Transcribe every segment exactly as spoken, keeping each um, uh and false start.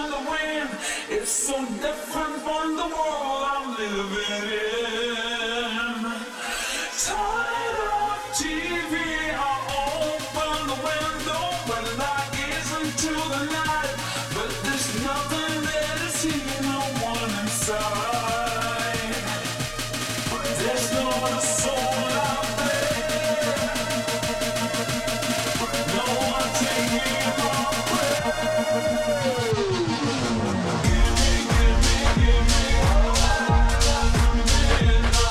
in the wind. It's so different from the world I'm living in. Tired of T V, I open the window when I gaze into the night. But there's nothing there to see, no one inside. There's not a soul out there. No one taking my breath. Give me, give me, give me all I can.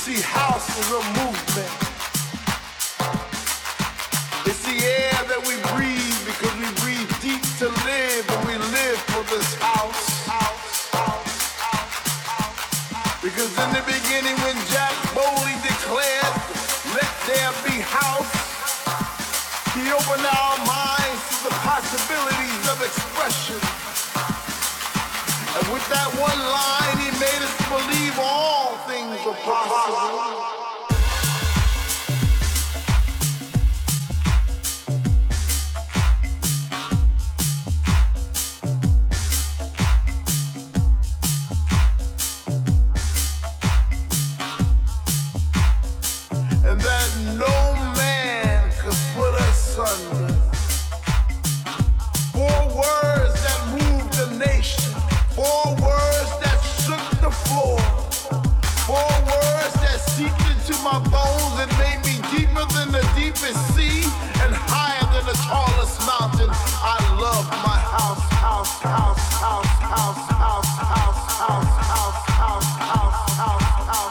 see, house is a movement. It's the air that we breathe because we breathe deep to live, and we live for this house. Because in the beginning when Jack Bowley declared, let there be house, he opened our minds to the possibilities of expression. And with that one line, he made us believe all things are possible. My bones, it made me deeper than the deepest sea and higher than the tallest mountain. I love my house, house, house, house, house, house, house, house, house, house, house, house, house,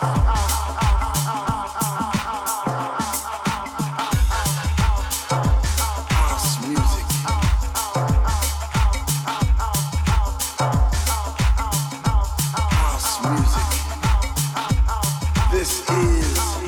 house music. House music. This is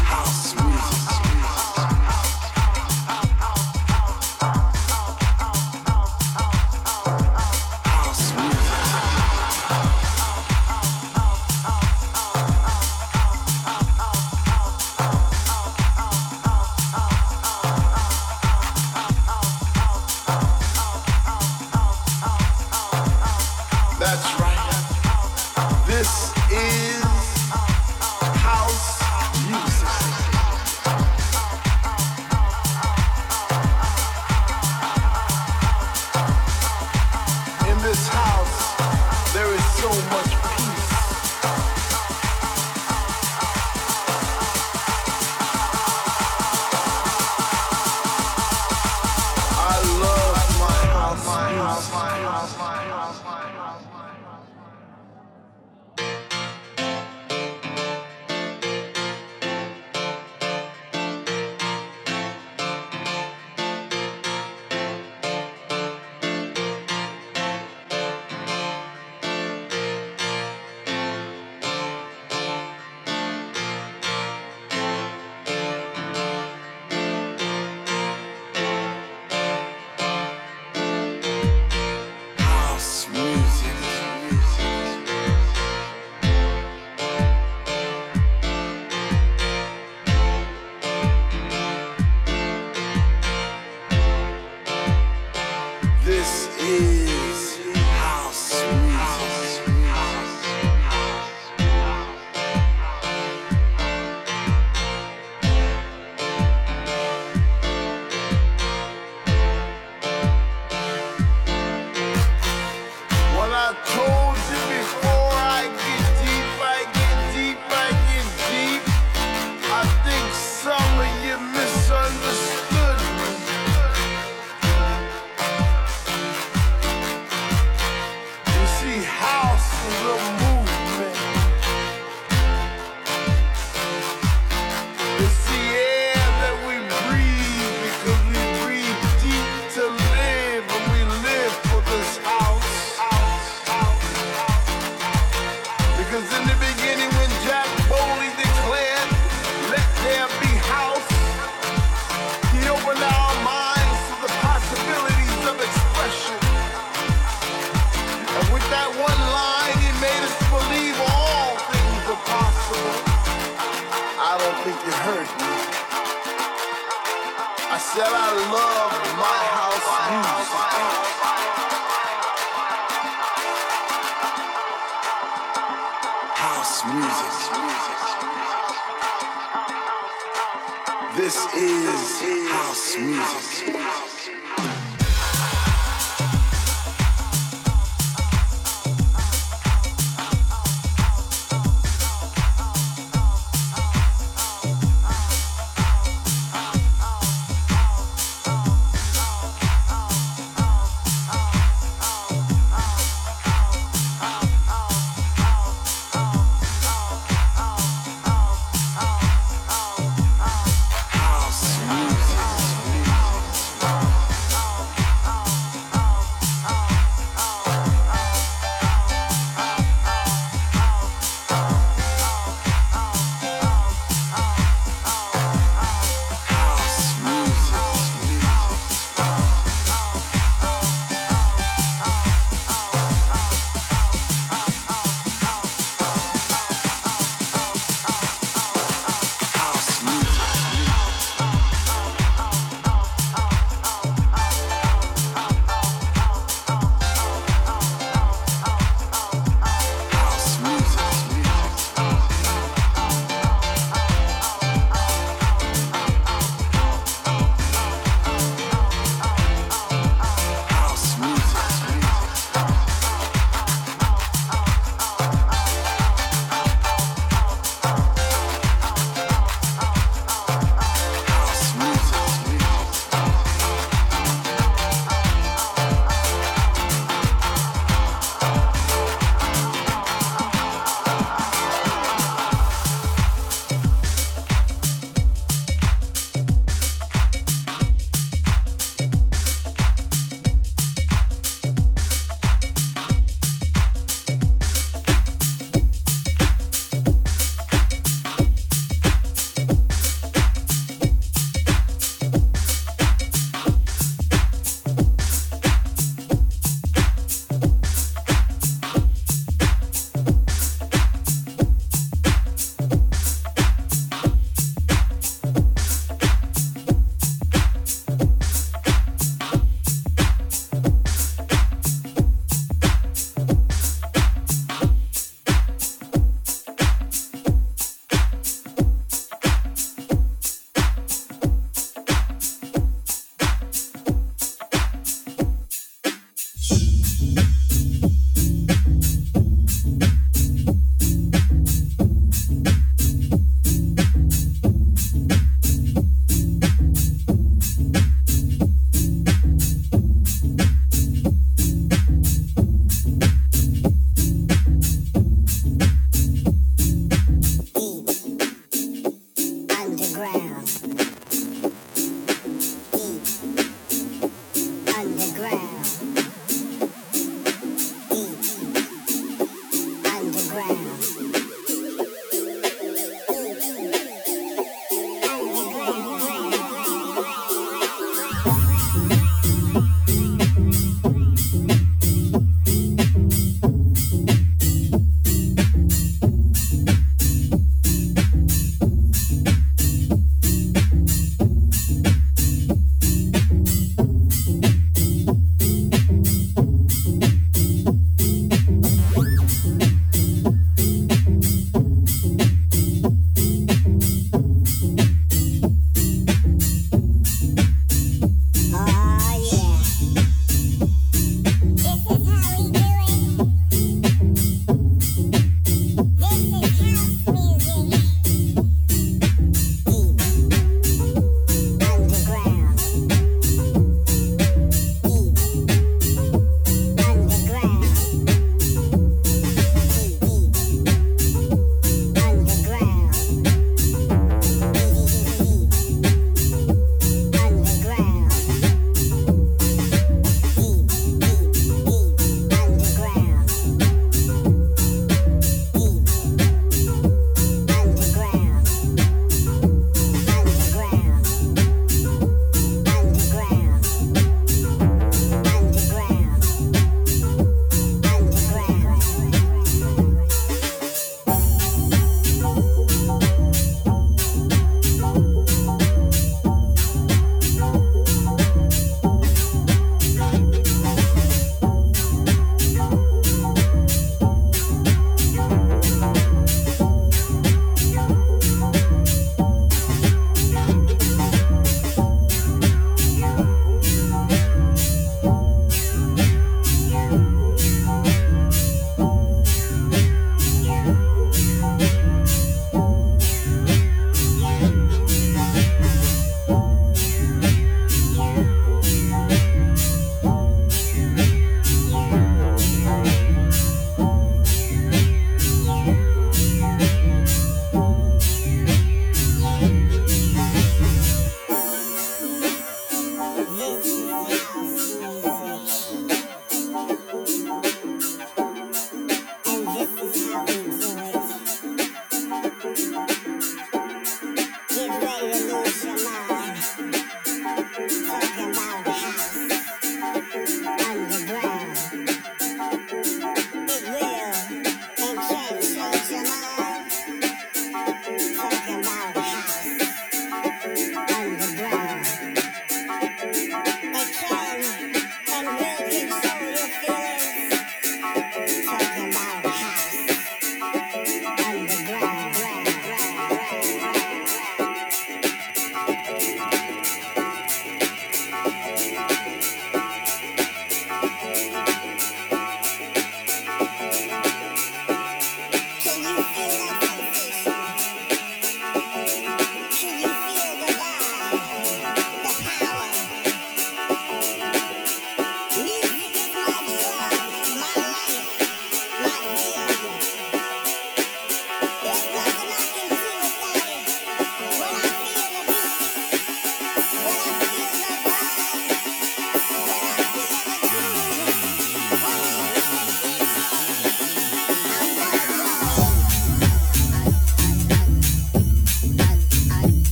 This is house music. House.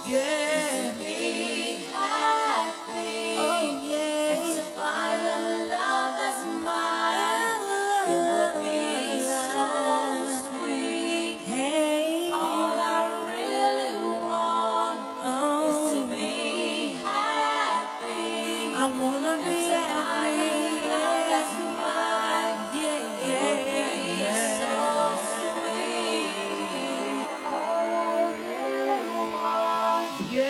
Yeah. To be happy. Oh yeah. To find a love that's mine. It would be so sweet. Hey. All I really want oh. is to be happy. I wanna be happy. Love that's mine. Yeah, yeah, yeah, yeah. So sweet. All I really want. Yeah.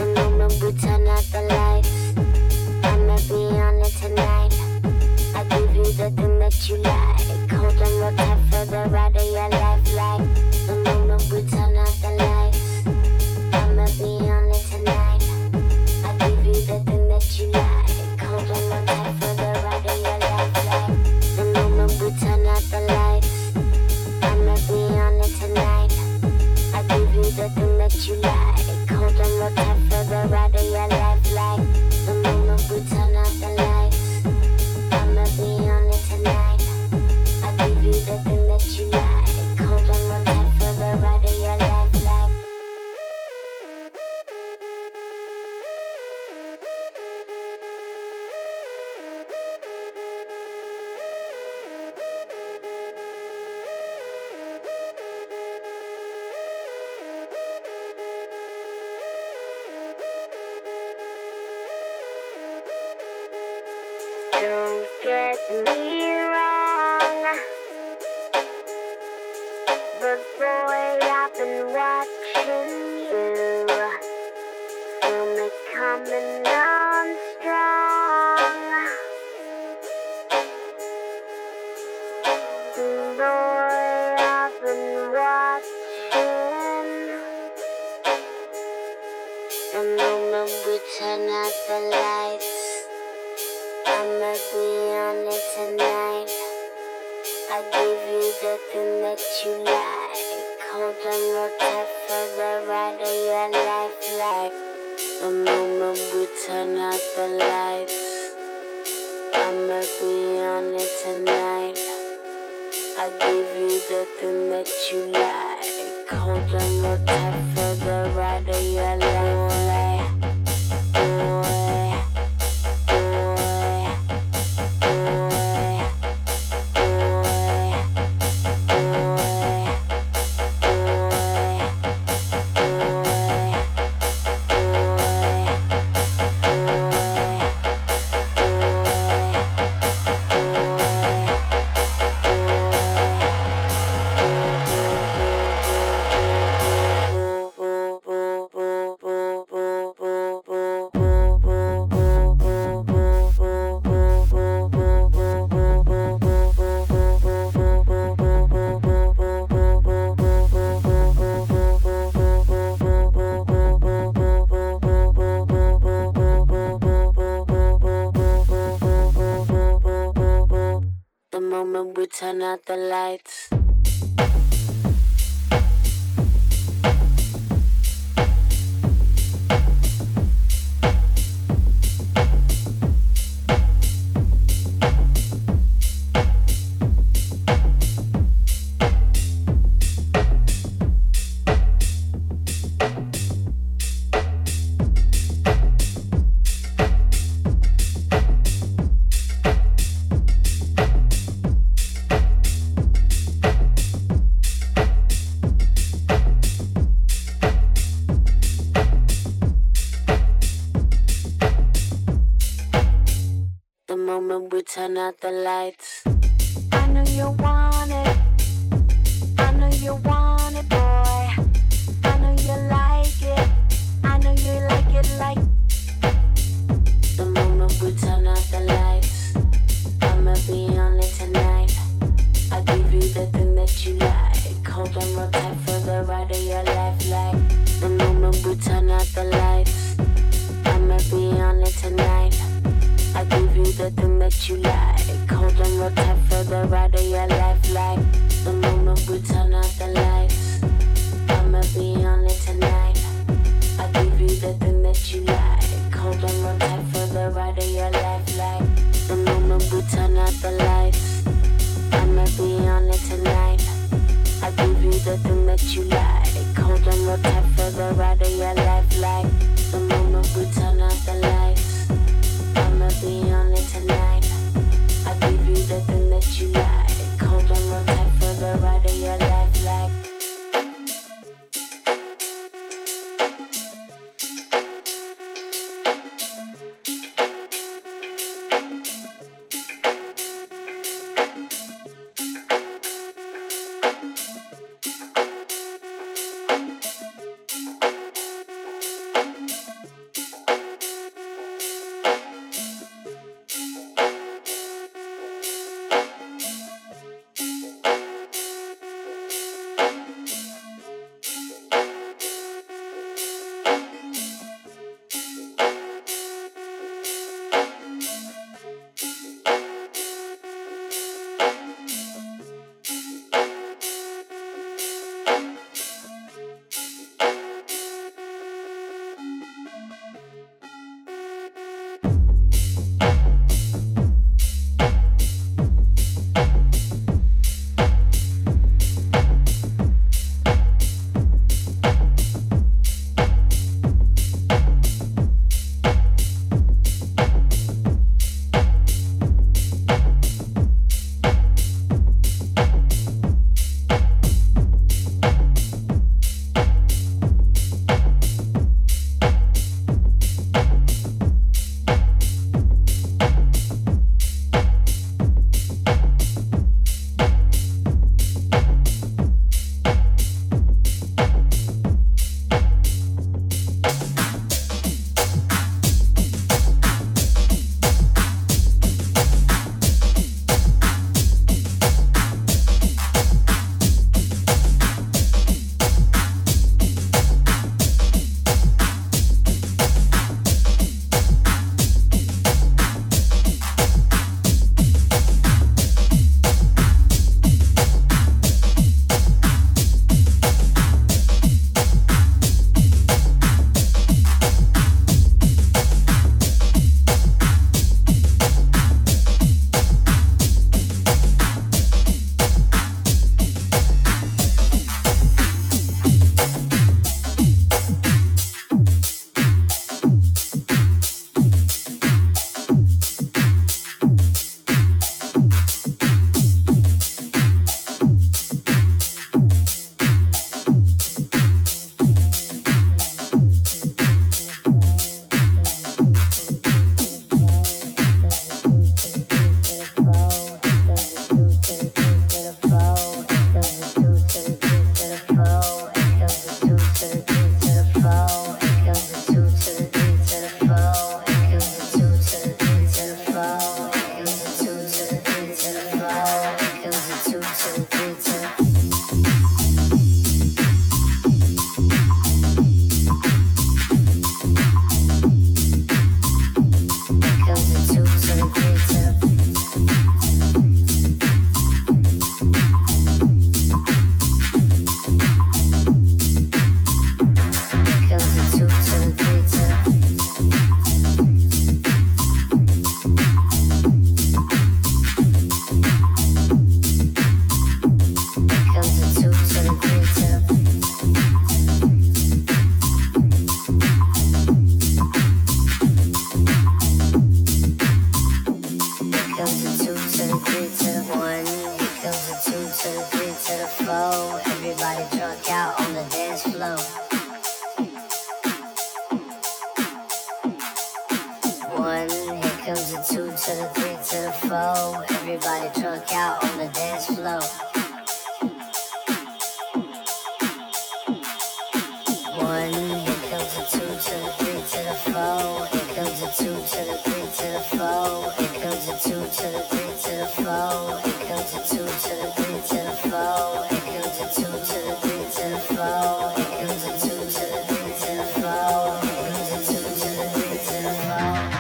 The moment we turn out the lights, I'ma be on it tonight. I give you the thing that you like. Hold on real tight for the ride of your life. Like the moment we turn out the lights, I'ma be on it tonight. I give you the thing that you like. Hold on real tight for the ride of your life. Like the moment we turn out the lights, I'ma be on it tonight. I give you the thing that you like. Hold on real tight for the ride of your life. Like the moment we turn out the lights, I'ma be on it tonight. I give you the thing that you like. Hold on real tight for the ride of your life. Like don't get me wrong, but boy, I've been watching you. Feel me coming on strong. Boy, I've been watching. The moment we turn out the lights, I'ma be on it tonight. I give you the thing that you like. Hold on real tight for the ride of your life. Like the moment we turn out the lights, I'ma be on it tonight. I give you the thing that you like. Hold on real tight for the ride of your life. Like boy, boy, boy. The moment we turn out the lights. The moment we turn out the lights. I know you want it. I know you want it, boy. I know you like it. I know you like it like. The moment we turn out the lights, I'ma be on it tonight. I give you the thing that you like. Hold on real tight for the ride of your life. Like the moment we turn out the lights, I'ma be on it tonight. I give you the thing that you like. Hold on real tight for the ride of your life. Like the moment we turn out the lights, I'ma be on it tonight. I give you the thing that you like. Hold on real tight for the ride of your life. Like the moment we turn out the lights, I'ma be on it tonight. I give you the thing that you like. Hold on real tight for the ride of your life. Like the moment we turn out the lights, I'ma be on it tonight. I give you the thing that you like. Hold on real tight for the ride of your life. Like comes the two to the three to the four. Everybody drunk out on the dance floor. One, here comes the two to the three to the four. Here comes the two to the three to the four. Here comes the two to the three to the four. Here comes the two to the three to the four. Here comes the two to the three to the four. Here comes the two to the three to the four. Here comes the two to the three to the four.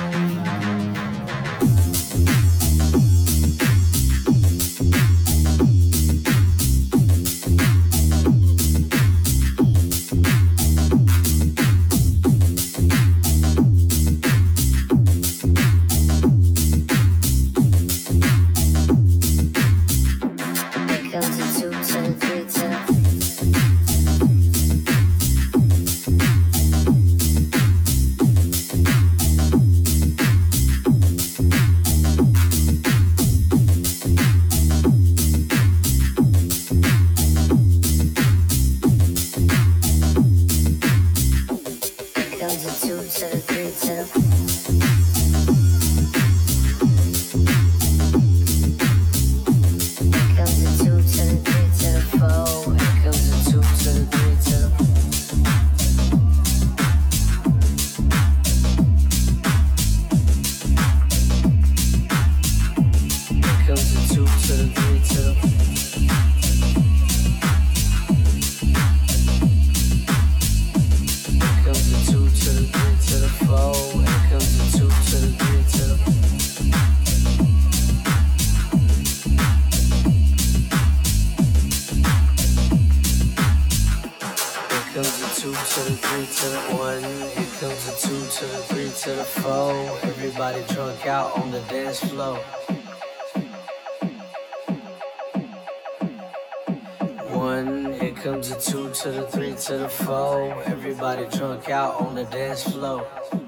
To the three to the four, everybody drunk out on the dance floor.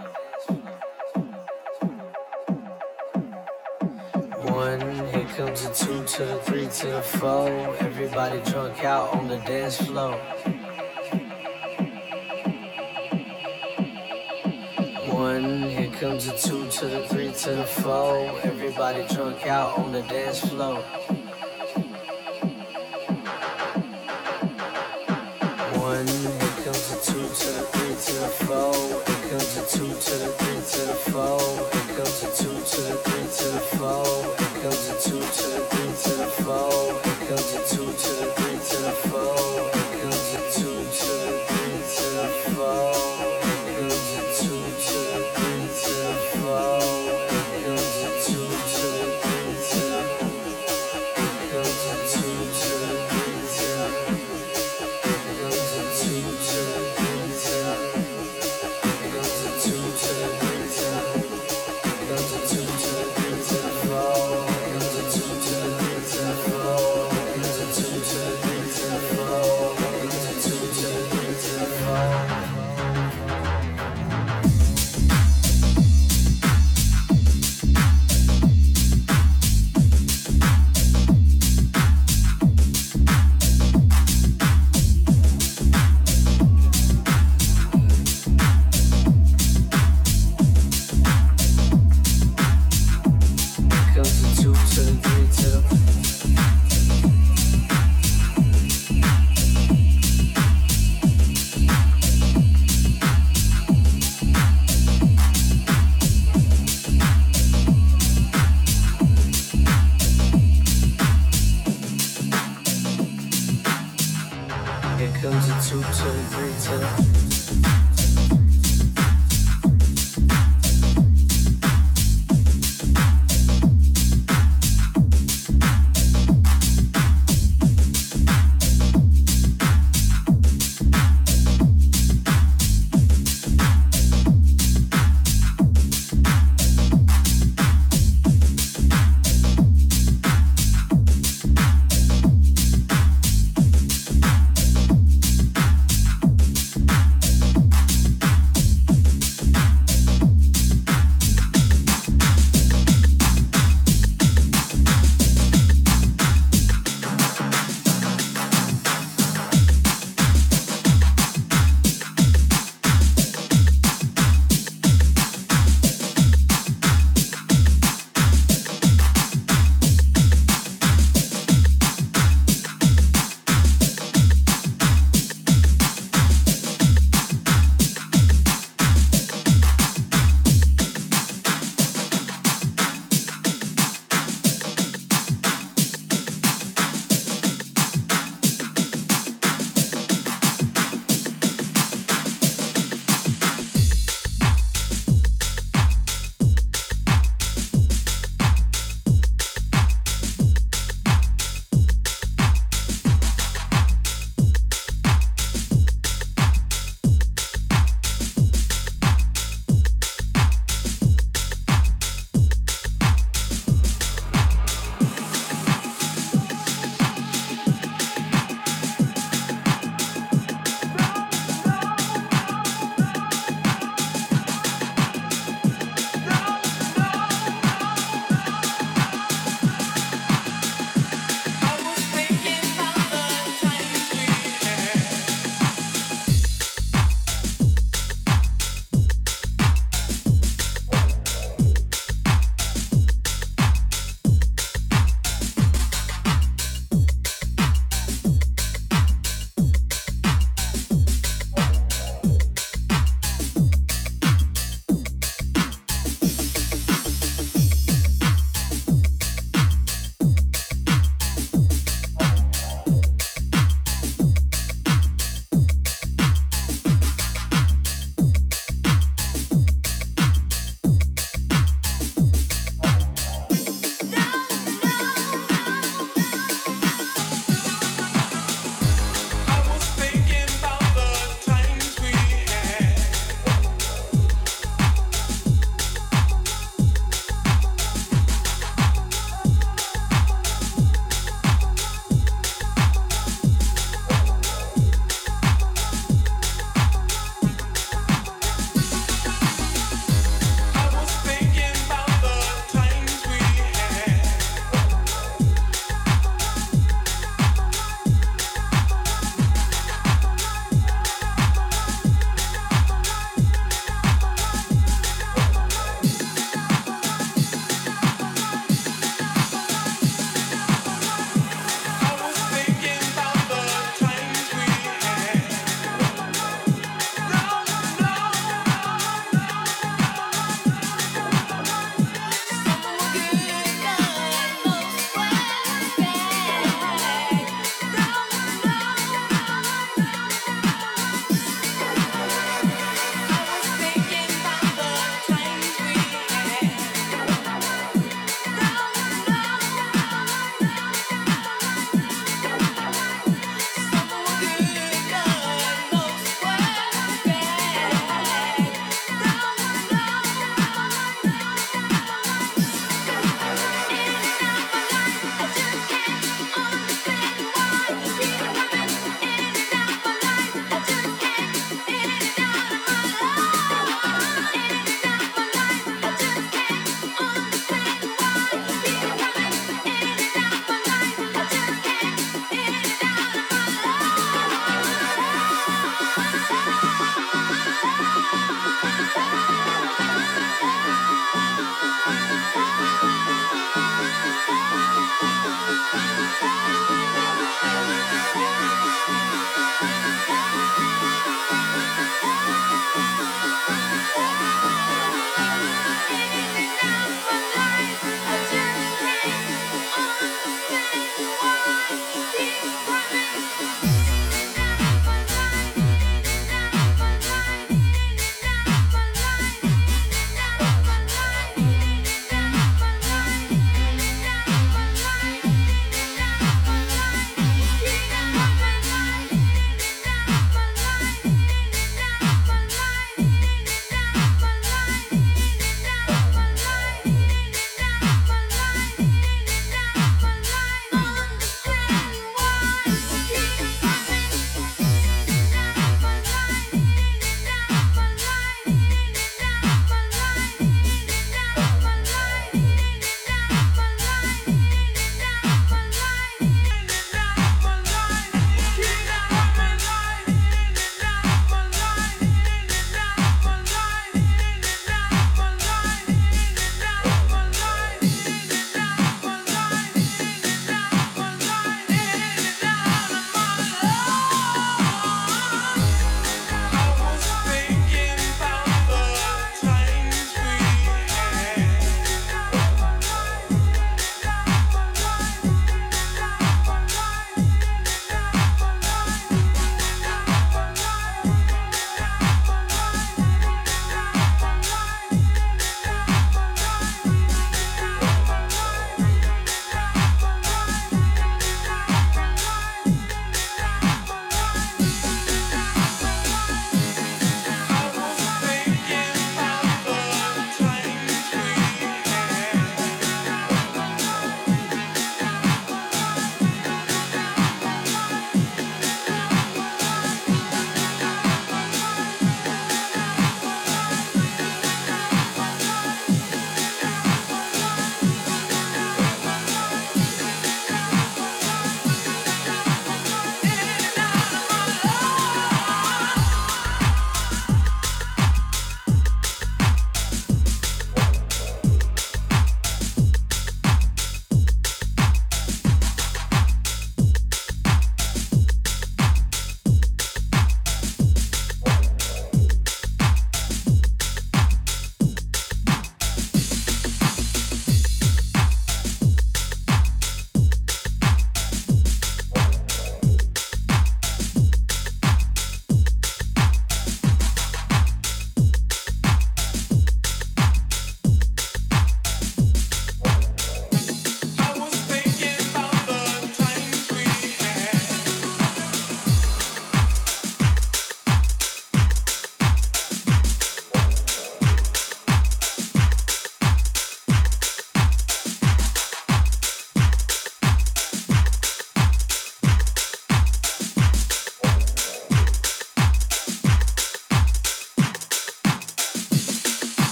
One, here comes the two to the three to the four, everybody drunk out on the dance floor. One, here comes the two to the three to the four, everybody drunk out on the dance floor. One, here comes the two to the three to the four. Here comes the two to the three to the four. Here comes the two to the three to the four. Here comes the two to the three to the four. Here comes the two to the three to the four. Here comes the two to the three to the four. Here comes the two to the three to the four. Here comes the two to the three to the four. Here comes the two to the three to the two to the three to the two to the three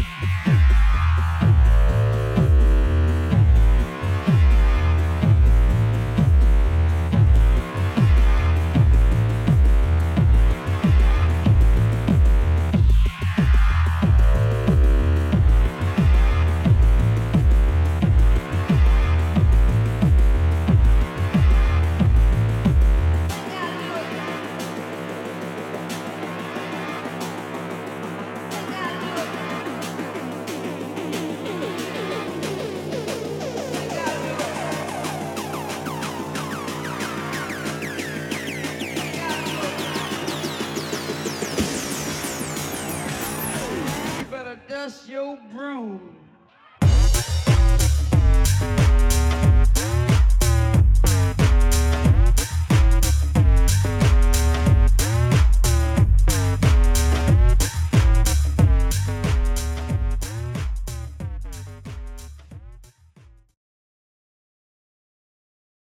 Dust your broom.